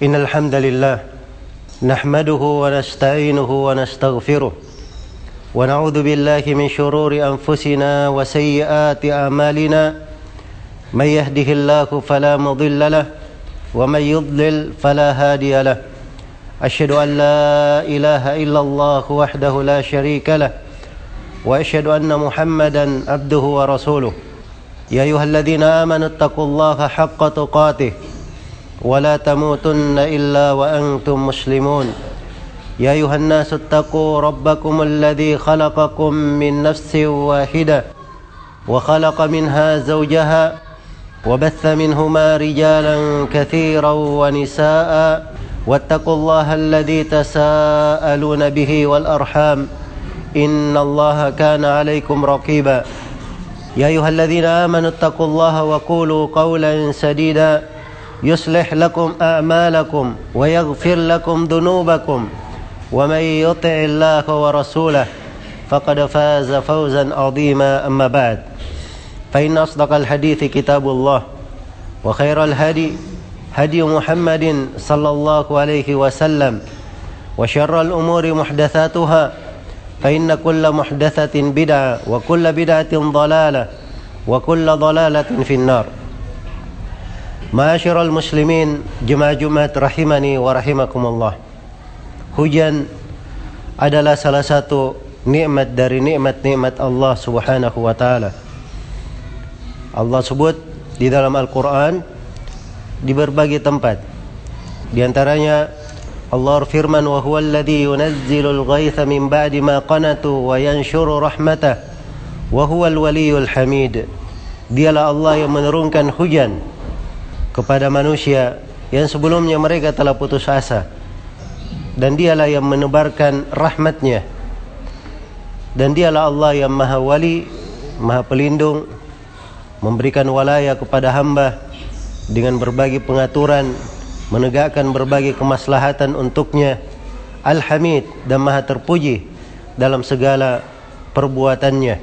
إن الحمد لله نحمده ونستعينه ونستغفره ونعوذ بالله من شرور أنفسنا وسيئات أعمالنا من يهده الله فلا مضل له ومن يضلل فلا هادي له أشهد أن لا إله إلا الله وحده لا شريك له وأشهد أن محمدا عبده ورسوله يا أيها الذين آمنوا اتقوا الله حق تقاته ولا تموتن إلا وأنتم مسلمون يا أيها الناس اتقوا ربكم الذي خلقكم من نفس واحدة وخلق منها زوجها وبث منهما رجالا كثيرا ونساء واتقوا الله الذي تساءلون به والأرحام إن الله كان عليكم رقيبا يا أيها الذين آمنوا اتقوا الله وقولوا قولا سديدا يصلح لكم أعمالكم ويغفر لكم ذنوبكم ومن يطع الله ورسوله فقد فاز فوزا عظيما أما بعد فإن أصدق الحديث كتاب الله وخير الهدي هدي محمد صلى الله عليه وسلم وشر الأمور محدثاتها فإن كل محدثة بدعة وكل بدعة ضلالة وكل ضلالة في النار. Ma'asyiral muslimin, jemaah Jumat rahimani wa rahimakumullah. Hujan adalah salah satu nikmat dari nikmat-nikmat Allah Subhanahu wa taala. Allah sebut di dalam Al-Qur'an di berbagai tempat. Di antaranya Allah firman, wa huwal ladzi yunazzilul ghaitha min ba'di ma qanatu wa yanshuru rahmatah wa huwal waliyyul hamid. Dialah Allah yang menurunkan hujan kepada manusia yang sebelumnya mereka telah putus asa, dan dialah yang menebarkan rahmatnya, dan dialah Allah yang maha wali, maha pelindung, memberikan walaya kepada hamba dengan berbagai pengaturan, menegakkan berbagai kemaslahatan untuknya. Al-Hamid, dan maha terpuji dalam segala perbuatannya.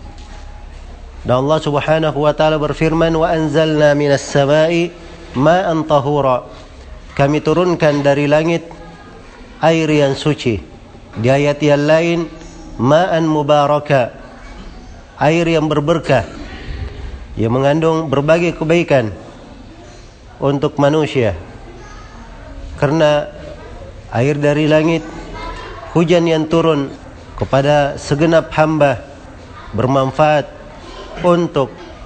Dan Allah Subhanahu wa taala berfirman, wa anzalna minas samai ma'an tahura. Kami turunkan dari langit air yang suci. Di ayat yang lain, ma'an mubaraka, air yang berberkah, yang mengandung berbagai kebaikan untuk manusia. Karena air dari langit, hujan yang turun kepada segenap hamba, bermanfaat untuk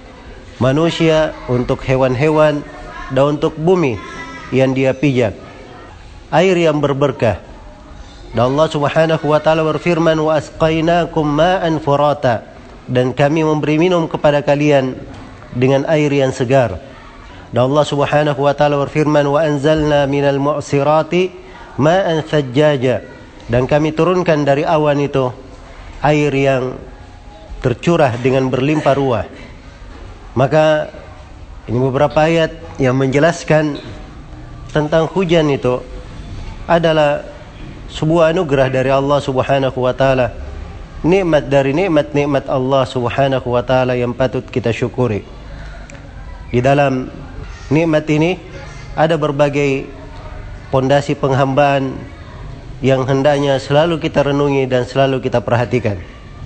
manusia, untuk hewan-hewan, dan untuk bumi yang dia pijak. Air yang berberkah. Dan Allah Subhanahu wa taala berfirman, wa asqainakum ma'an furata, dan kami memberi minum kepada kalian dengan air yang segar. Dan Allah Subhanahu wa taala berfirman, wa anzalna minal mu'sirati ma'an thajjaja, dan kami turunkan dari awan itu air yang tercurah dengan berlimpah ruah. Maka ini beberapa ayat yang menjelaskan tentang hujan itu adalah sebuah anugerah dari Allah Subhanahu wa taala, nikmat dari nikmat-nikmat Allah Subhanahu wa taala yang patut kita syukuri. Di dalam nikmat ini ada berbagai pondasi penghambaan yang hendaknya selalu kita renungi dan selalu kita perhatikan.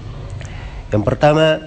Yang pertama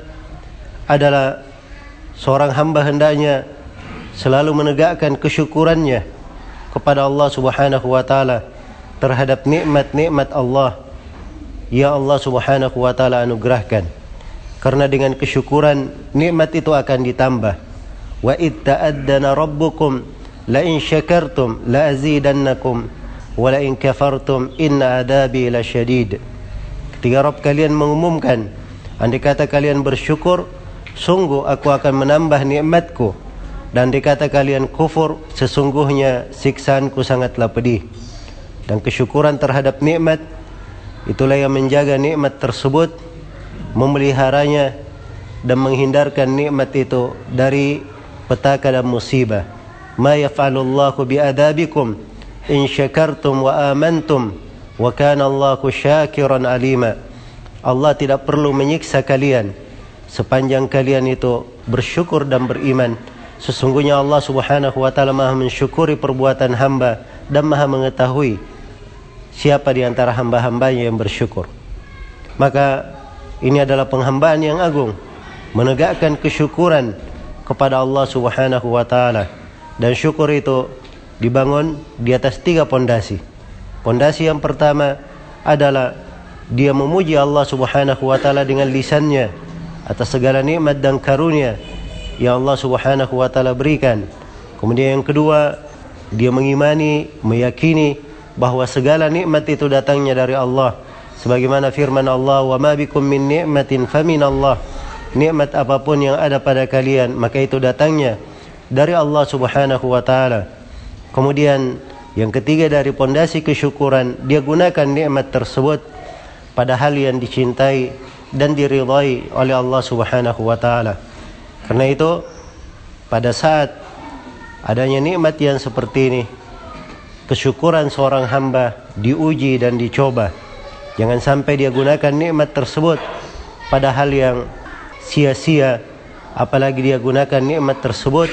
adalah seorang hamba hendaknya selalu menegakkan kesyukurannya kepada Allah Subhanahu wa taala terhadap nikmat-nikmat Allah yang Allah Subhanahu wa taala anugerahkan. Karena dengan kesyukuran nikmat itu akan ditambah. Wa id ta'addana rabbukum la in syakartum la azidannakum wa la in kafartum inna adabi lasyadid. Ketika Rabb kalian mengumumkan, andai kata kalian bersyukur, sungguh aku akan menambah nikmatku, dan andai kata kalian kufur, sesungguhnya siksaanku sangatlah pedih. Dan kesyukuran terhadap nikmat itulah yang menjaga nikmat tersebut, memeliharanya, dan menghindarkan nikmat itu dari petaka dan musibah. Ma yaf'alullahu bi'adabikum in syakartum wa amantum wa kana Allahu syakiran alima. Allah tidak perlu menyiksa kalian sepanjang kalian itu bersyukur dan beriman. Sesungguhnya Allah Subhanahu wa taala Maha mensyukuri perbuatan hamba dan Maha mengetahui siapa di antara hamba-hambanya yang bersyukur. Maka ini adalah penghambaan yang agung, menegakkan kesyukuran kepada Allah Subhanahu wa taala. Dan syukur itu dibangun di atas 3 pondasi. Pondasi yang pertama adalah dia memuji Allah Subhanahu wa taala dengan lisannya atas segala nikmat dan karunia yang Allah Subhanahu wa taala berikan. Kemudian yang kedua, dia mengimani, meyakini bahwa segala nikmat itu datangnya dari Allah. Sebagaimana firman Allah, "Wa ma bikum min ni'matin faminallah." Nikmat apapun yang ada pada kalian, maka itu datangnya dari Allah Subhanahu wa taala. Kemudian yang ketiga dari pondasi kesyukuran, dia gunakan nikmat tersebut pada hal yang dicintai dan diridhai oleh Allah Subhanahu wa taala. Karena itu pada saat adanya nikmat yang seperti ini, kesyukuran seorang hamba diuji dan dicoba. Jangan sampai dia gunakan nikmat tersebut pada hal yang sia-sia, apalagi dia gunakan nikmat tersebut,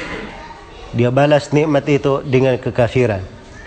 dia balas nikmat itu dengan kekafiran.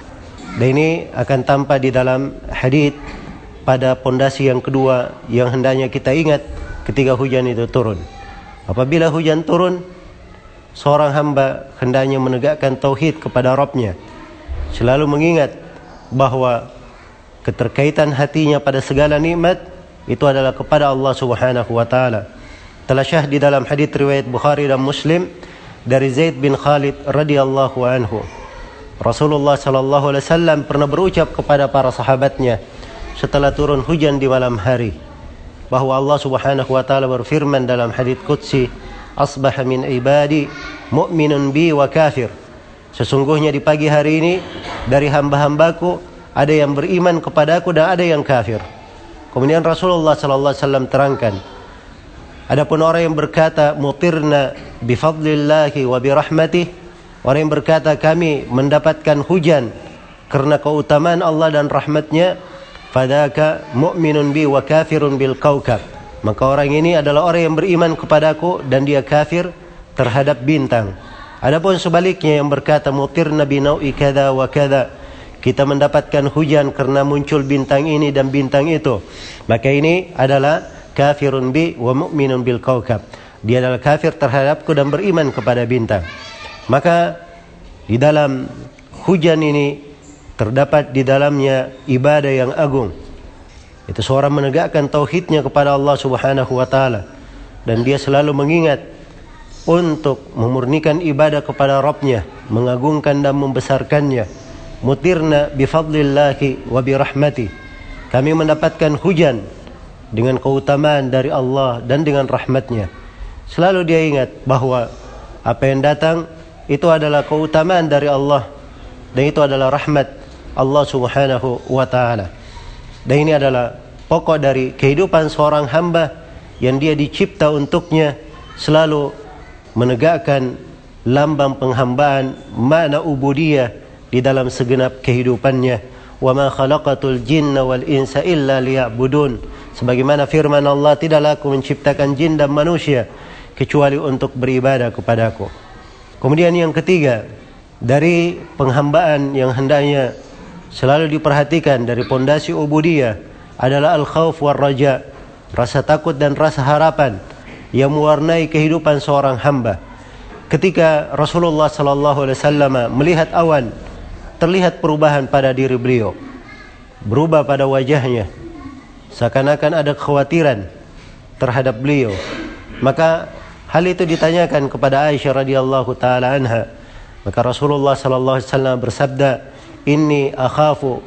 Dan ini akan tampak di dalam hadits pada pondasi yang kedua yang hendaknya kita ingat ketika hujan itu turun. Apabila hujan turun, seorang hamba hendaknya menegakkan tauhid kepada Rabb-Nya, selalu mengingat bahwa keterkaitan hatinya pada segala nikmat itu adalah kepada Allah Subhanahu wa taala. Telah syah di dalam hadits riwayat Bukhari dan Muslim dari Zaid bin Khalid radhiyallahu anhu, Rasulullah sallallahu alaihi wasallam pernah berucap kepada para sahabatnya setelah turun hujan di malam hari, bahwa Allah Subhanahu wa taala berfirman dalam hadits qudsi, "Asbaha min ibadi mu'minun bi wa kafir." Sesungguhnya di pagi hari ini dari hamba-hambaku ada yang beriman kepadaku dan ada yang kafir. Kemudian Rasulullah sallallahu alaihi wasallam terangkan, adapun orang yang berkata mutirna bi fadlillahi wa bi rahmatih, orang yang berkata kami mendapatkan hujan karena keutamaan Allah dan rahmatnya, fadaka mu'minun bi wa kafirun bil kaukab, maka orang ini adalah orang yang beriman kepadaku dan dia kafir terhadap bintang. Adapun sebaliknya yang berkata mutirna bi nau'i kada wa kada, kita mendapatkan hujan karena muncul bintang ini dan bintang itu, maka ini adalah kafirun bi wa mu'minun bil kaukab, dia adalah kafir terhadapku dan beriman kepada bintang. Maka di dalam hujan ini terdapat di dalamnya ibadah yang agung. Itu seorang menegakkan tauhidnya kepada Allah Subhanahu wa taala, dan dia selalu mengingat untuk memurnikan ibadah kepada Rabb-Nya, mengagungkan dan membesarkannya. Mutirna bifadlillahi wa birahmatih, kami mendapatkan hujan dengan keutamaan dari Allah dan dengan rahmatnya. Selalu dia ingat bahwa apa yang datang itu adalah keutamaan dari Allah dan itu adalah rahmat Allah Subhanahu wa ta'ala. Dan ini adalah pokok dari kehidupan seorang hamba yang dia dicipta untuknya, selalu menegakkan lambang penghambaan, makna ubudiyah di dalam segenap kehidupannya. Wa ma khalaqatul jinna wal insa illa liya'budun, sebagaimana firman Allah, tidaklah aku menciptakan jin dan manusia kecuali untuk beribadah kepadaku. Kemudian yang ketiga dari penghambaan yang hendaknya selalu diperhatikan dari pondasi ubudiyah adalah al-khauf war raja, rasa takut dan rasa harapan yang mewarnai kehidupan seorang hamba. Ketika Rasulullah sallallahu alaihi wasallam melihat awan, terlihat perubahan pada diri beliau, berubah pada wajahnya, seakan-akan ada kekhawatiran terhadap beliau. Maka hal itu ditanyakan kepada Aisyah radhiyallahu taala anha. Maka Rasulullah sallallahu alaihi wasallam bersabda, "Inni akhafu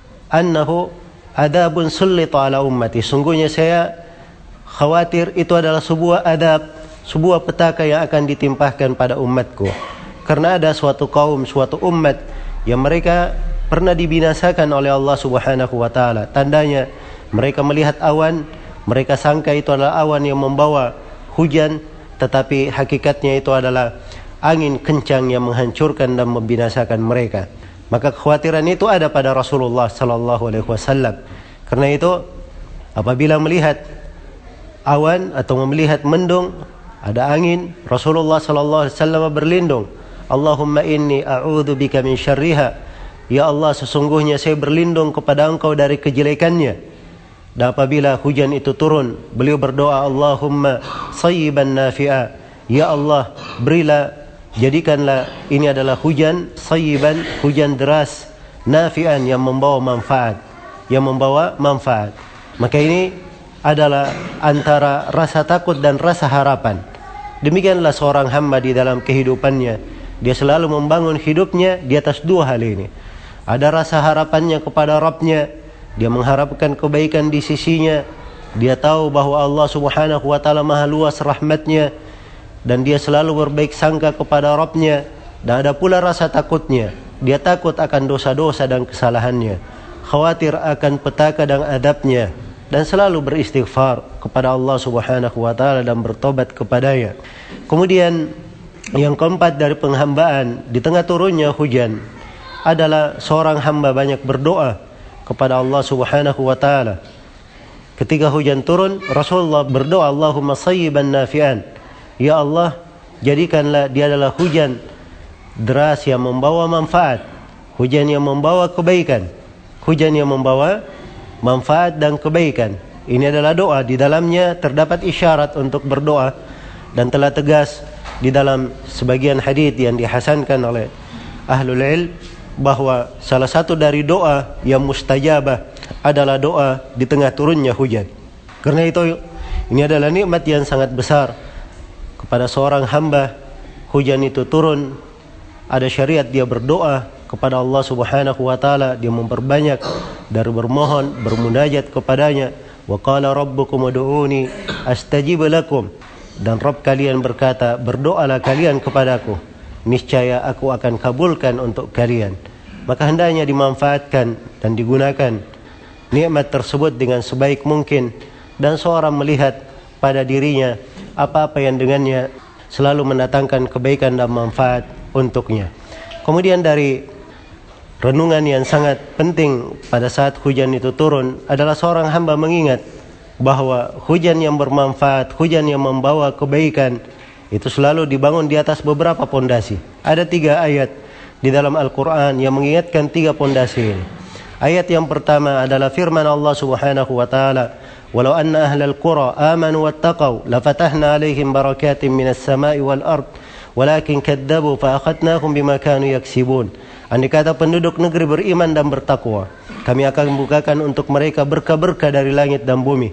annahu adabun sullita ala ummati." Sungguhnya saya khawatir itu adalah sebuah adab, sebuah petaka yang akan ditimpahkan pada umatku. Karena ada suatu kaum, suatu umat yang mereka pernah dibinasakan oleh Allah Subhanahu wa taala. Tandanya mereka melihat awan, mereka sangka itu adalah awan yang membawa hujan, tetapi hakikatnya itu adalah angin kencang yang menghancurkan dan membinasakan mereka. Maka kekhawatiran itu ada pada Rasulullah sallallahu alaihi wasallam. Karena itu apabila melihat awan atau melihat mendung, ada angin, Rasulullah sallallahu alaihi wasallam berlindung, Allahumma inni a'udzubika min syarriha, Ya Allah, sesungguhnya saya berlindung kepada Engkau dari kejelekannya. Dan apabila hujan itu turun, beliau berdoa, Allahumma sayyiban nafi'a. Ya Allah, berilah, jadikanlah ini adalah hujan sayyiban, hujan deras, nafi'an, yang membawa manfaat, Maka ini adalah antara rasa takut dan rasa harapan. Demikianlah seorang hamba di dalam kehidupannya. Dia selalu membangun hidupnya di atas dua hal ini. Ada rasa harapannya kepada Rabbnya, dia mengharapkan kebaikan di sisinya, dia tahu bahwa Allah subhanahu wa ta'ala maha luas rahmatnya, dan dia selalu berbaik sangka kepada Rabbnya. Dan ada pula rasa takutnya, dia takut akan dosa-dosa dan kesalahannya, khawatir akan petaka dan adabnya, dan selalu beristighfar kepada Allah subhanahu wa ta'ala dan bertobat kepadanya. Kemudian yang keempat dari penghambaan di tengah turunnya hujan adalah seorang hamba banyak berdoa kepada Allah subhanahu wa ta'ala. Ketika hujan turun, Rasulullah berdoa, Allahumma sayyiban nafi'an. Ya Allah, jadikanlah dia adalah hujan deras yang membawa manfaat, hujan yang membawa kebaikan, hujan yang membawa manfaat dan kebaikan. Ini adalah doa, di dalamnya terdapat isyarat untuk berdoa, dan telah tegas di dalam sebagian hadis yang dihasankan oleh ahlul ilm bahwa salah satu dari doa yang mustajabah adalah doa di tengah turunnya hujan. Karena itu ini adalah nikmat yang sangat besar kepada seorang hamba. Hujan itu turun, ada syariat dia berdoa kepada Allah subhanahu wa ta'ala, dia memperbanyak dari bermohon, bermunajat kepadanya. Wa qala rabbukum ud'uni astajib lakum. Dan Rabb kalian berkata, berdoalah kalian kepadaku, niscaya aku akan kabulkan untuk kalian. Maka hendaknya dimanfaatkan dan digunakan nikmat tersebut dengan sebaik mungkin, dan seorang melihat pada dirinya apa-apa yang dengannya selalu mendatangkan kebaikan dan manfaat untuknya. Kemudian dari renungan yang sangat penting pada saat hujan itu turun adalah seorang hamba mengingat bahwa hujan yang bermanfaat, hujan yang membawa kebaikan itu selalu dibangun di atas beberapa pondasi. Ada 3 ayat di dalam Al-Quran yang mengingatkan 3 pondasi ini. Ayat yang pertama adalah firman Allah subhanahu wa ta'ala, walau anna ahlal qura amanu wattaqaw lafatahna alaihim barakatin minas sama'i wal ard walakin kadzabu fa akhadnahum bima kanu yaksibun. Andai kata penduduk negeri beriman dan bertakwa, kami akan membukakan untuk mereka berkah-berkah dari langit dan bumi.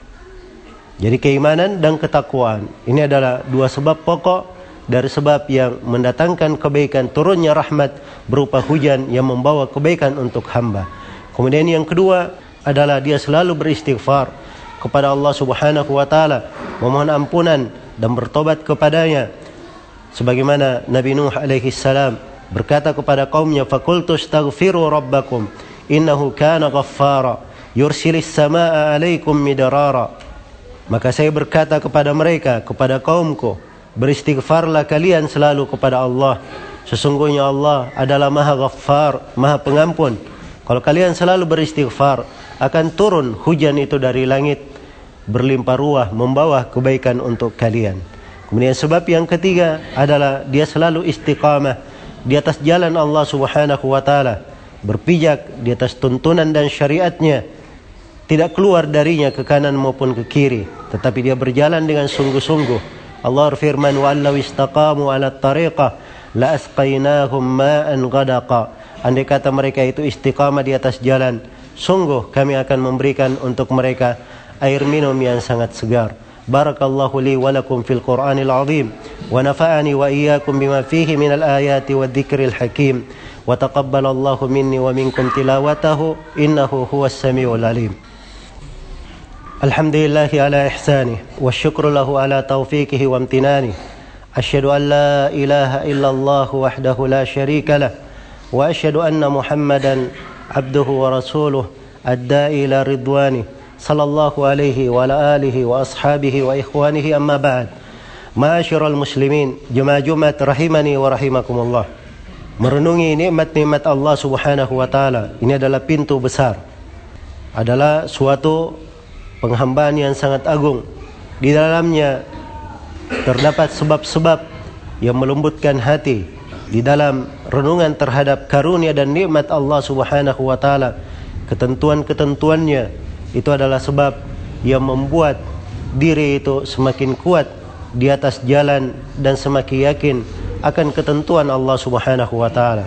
Jadi keimanan dan ketakwaan ini adalah 2 sebab pokok dari sebab yang mendatangkan kebaikan, turunnya rahmat berupa hujan yang membawa kebaikan untuk hamba. Kemudian yang kedua adalah dia selalu beristighfar kepada Allah subhanahu wa ta'ala, memohon ampunan dan bertobat kepadanya. Sebagaimana Nabi Nuh alaihi salam berkata kepada kaumnya, faqultu astaghfiru rabbakum innahu kana ghaffara yursilis samaa'a alaikum midrara. Maka saya berkata kepada mereka, kepada kaumku, beristighfarlah kalian selalu kepada Allah. Sesungguhnya Allah adalah Maha Ghaffar, Maha Pengampun. Kalau kalian selalu beristighfar, akan turun hujan itu dari langit berlimpah ruah, membawa kebaikan untuk kalian. Kemudian sebab yang ketiga adalah dia selalu istiqamah di atas jalan Allah subhanahu wa ta'ala, berpijak di atas tuntunan dan syariatnya, tidak keluar darinya ke kanan maupun ke kiri, tetapi dia berjalan dengan sungguh-sungguh. Allah berfirman, wa law istaqamu ala tariqah la asqainahum ma'an ghadaqa. Andai kata mereka itu istiqamah di atas jalan, sungguh kami akan memberikan untuk mereka air minum yang sangat segar. Barakallahu li wa lakum fil Qur'anil azim wa nafa'ani wa iyyakum bima fihi minal ayati wadh-dhikril hakim wa taqabbalallahu minni wa minkum tilawatahu innahu huwas samiul alim. Alhamdulillahi ala ihsanih wa syukru lahu ala taufiqihi wa amtinanih. Asyhadu an la ilaha illallah wahdahu la syarika lah wa asyhadu anna Muhammadan abduhu wa rasuluh ad-da'i ila ridwanih sallallahu alaihi wa ala alihi wa ashabihi wa ikhwanihi amma ba'd. Ma'asyiral muslimin, jemaah Jumat rahimani wa rahimakumullah. Merenungi nikmat-nikmat Allah subhanahu wa ta'ala, ini adalah pintu besar, adalah suatu penghambaan yang sangat agung. Di dalamnya terdapat sebab-sebab yang melembutkan hati, di dalam renungan terhadap karunia dan nikmat Allah Subhanahu wa taala, ketentuan-ketentuannya, itu adalah sebab yang membuat diri itu semakin kuat di atas jalan dan semakin yakin akan ketentuan Allah Subhanahu wa taala.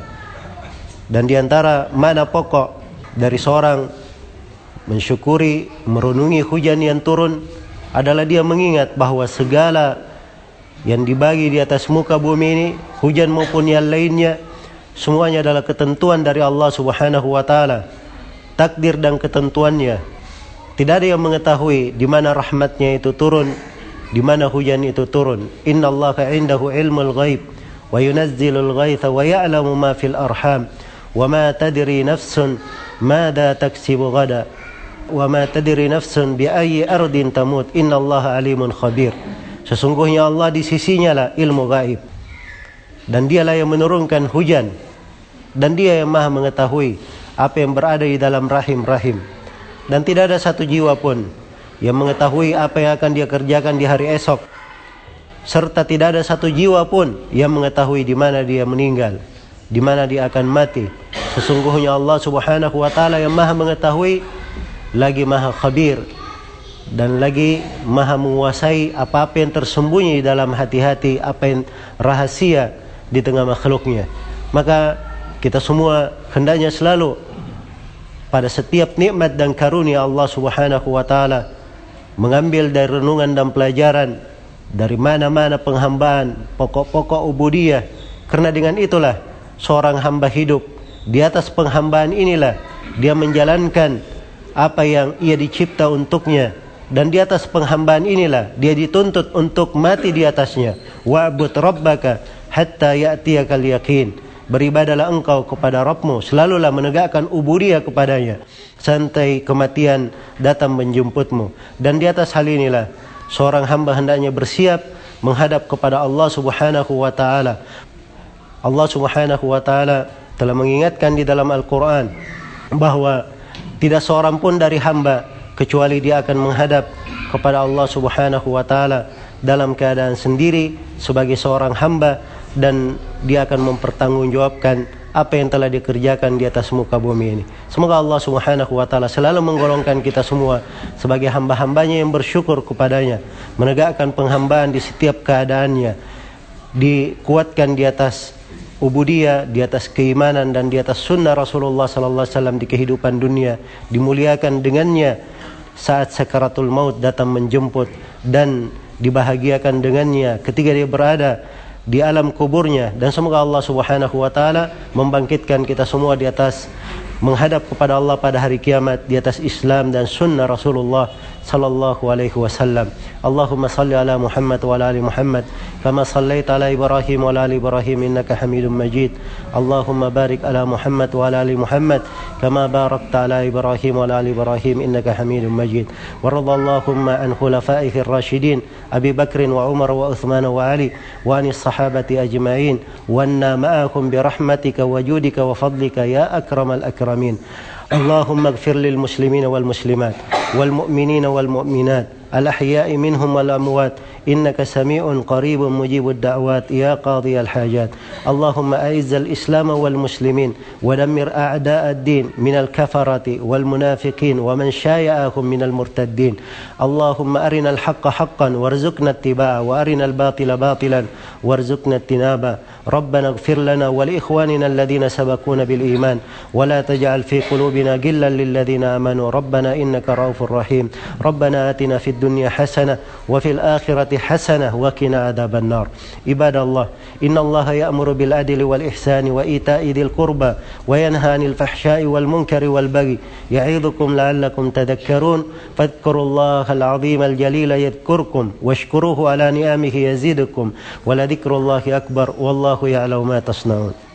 Dan di antara makna pokok dari seorang mensyukuri, merenungi hujan yang turun adalah dia mengingat bahwa segala yang dibagi di atas muka bumi ini, hujan maupun yang lainnya, semuanya adalah ketentuan dari Allah Subhanahu wa taala, takdir dan ketentuannya. Tidak ada yang mengetahui di mana rahmatnya itu turun, di mana hujan itu turun. Innallaha 'indahu 'ilmul ghaib wa yunazzilul ghaitha wa ya'lamu ma fil arham wa ma tadri nafsun madza taksibu ghada wa ma tadri nafsun bi ayyi ardin tamut innallaha alimun khabir. Sesungguhnya Allah di sisinya lah ilmu gaib, dan dialah yang menurunkan hujan, dan dia yang maha mengetahui apa yang berada di dalam rahim-rahim. Dan tidak ada satu jiwa pun yang mengetahui apa yang akan dia kerjakan di hari esok, serta tidak ada satu jiwa pun yang mengetahui di mana dia meninggal, di mana dia akan mati. Sesungguhnya Allah Subhanahu wa taala yang maha mengetahui, lagi maha khabir, dan lagi maha menguasai apa-apa yang tersembunyi di dalam hati-hati, apa yang rahasia di tengah makhluknya. Maka kita semua hendaknya selalu pada setiap nikmat dan karunia Allah Subhanahu wa taala mengambil dari renungan dan pelajaran dari mana-mana penghambaan, pokok-pokok ubudiyah. Karena dengan itulah seorang hamba hidup. Di atas penghambaan inilah dia menjalankan apa yang ia dicipta untuknya, dan di atas penghambaan inilah dia dituntut untuk mati di atasnya. Wa'bud rabbaka hatta ya'tiyakal yaqin. Beribadalah engkau kepada Rabbmu, selalulah menegakkan ubudiyah kepadanya sampai kematian datang menjemputmu. Dan di atas hal inilah seorang hamba hendaknya bersiap menghadap kepada Allah Subhanahu wa taala. Allah Subhanahu wa taala telah mengingatkan di dalam Al-Qur'an bahwa tidak seorang pun dari hamba kecuali dia akan menghadap kepada Allah Subhanahu wa taala dalam keadaan sendiri sebagai seorang hamba, dan dia akan mempertanggungjawabkan apa yang telah dikerjakan di atas muka bumi ini. Semoga Allah Subhanahu wa taala selalu menggolongkan kita semua sebagai hamba-hambanya yang bersyukur kepadanya, menegakkan penghambaan di setiap keadaannya, dikuatkan di atas ubudiyah, di atas keimanan dan di atas sunnah Rasulullah sallallahu alaihi wasallam di kehidupan dunia, dimuliakan dengannya saat sakaratul maut datang menjemput, dan dibahagiakan dengannya ketika dia berada di alam kuburnya. Dan semoga Allah Subhanahu wa taala membangkitkan kita semua di atas menghadap kepada Allah pada hari kiamat di atas Islam dan sunnah Rasulullah sallallahu alaihi wasallam. Allahumma salli ala Muhammad wa ala ali Muhammad kama sallaita ala Ibrahim wa ala ali Ibrahim innaka Hamidum Majid. Allahumma barik ala Muhammad wa ala ali Muhammad kama barakta ala Ibrahim wa ala ali Ibrahim innaka Hamidum Majid. Wa radallahumma an khulafaihi ar-rasyidin Abi Bakr wa Umar wa Uthman wa Ali wa anis sahabati ajma'in wa anna ma'akum bi rahmatika wa judika wa fadlika ya akramal akramin. اللهم اغفر للمسلمين والمسلمات والمؤمنين والمؤمنات الأحياء منهم والأموات إنك سميع قريب مجيب الدعوات يا قاضي الحاجات. اللهم أعز الإسلام والمسلمين ودمر أعداء الدين من الكفرة والمنافقين ومن شايعهم من المرتدين. اللهم أرنا الحق حقا وارزقنا اتباعه وأرنا الباطل باطلا وارزقنا اجتنابه. ربنا اغفر لنا ولإخواننا الذين سبقونا بالإيمان ولا تجعل في قلوبنا غلا للذين آمنوا ربنا إنك رؤوف رحيم. ربنا آتنا في الدنيا حسنة وفي الآخرة حسنة وقنا عذاب النار. عباد الله إن الله يأمر بالعدل والإحسان وإيتاء ذي القربى وينهى عن الفحشاء والمنكر والبغي يعظكم لعلكم تذكرون. فاذكروا الله العظيم الجليل يذكركم واشكروه على نعمه يزدكم ولذكر الله أكبر والله يعلم ما تصنعون.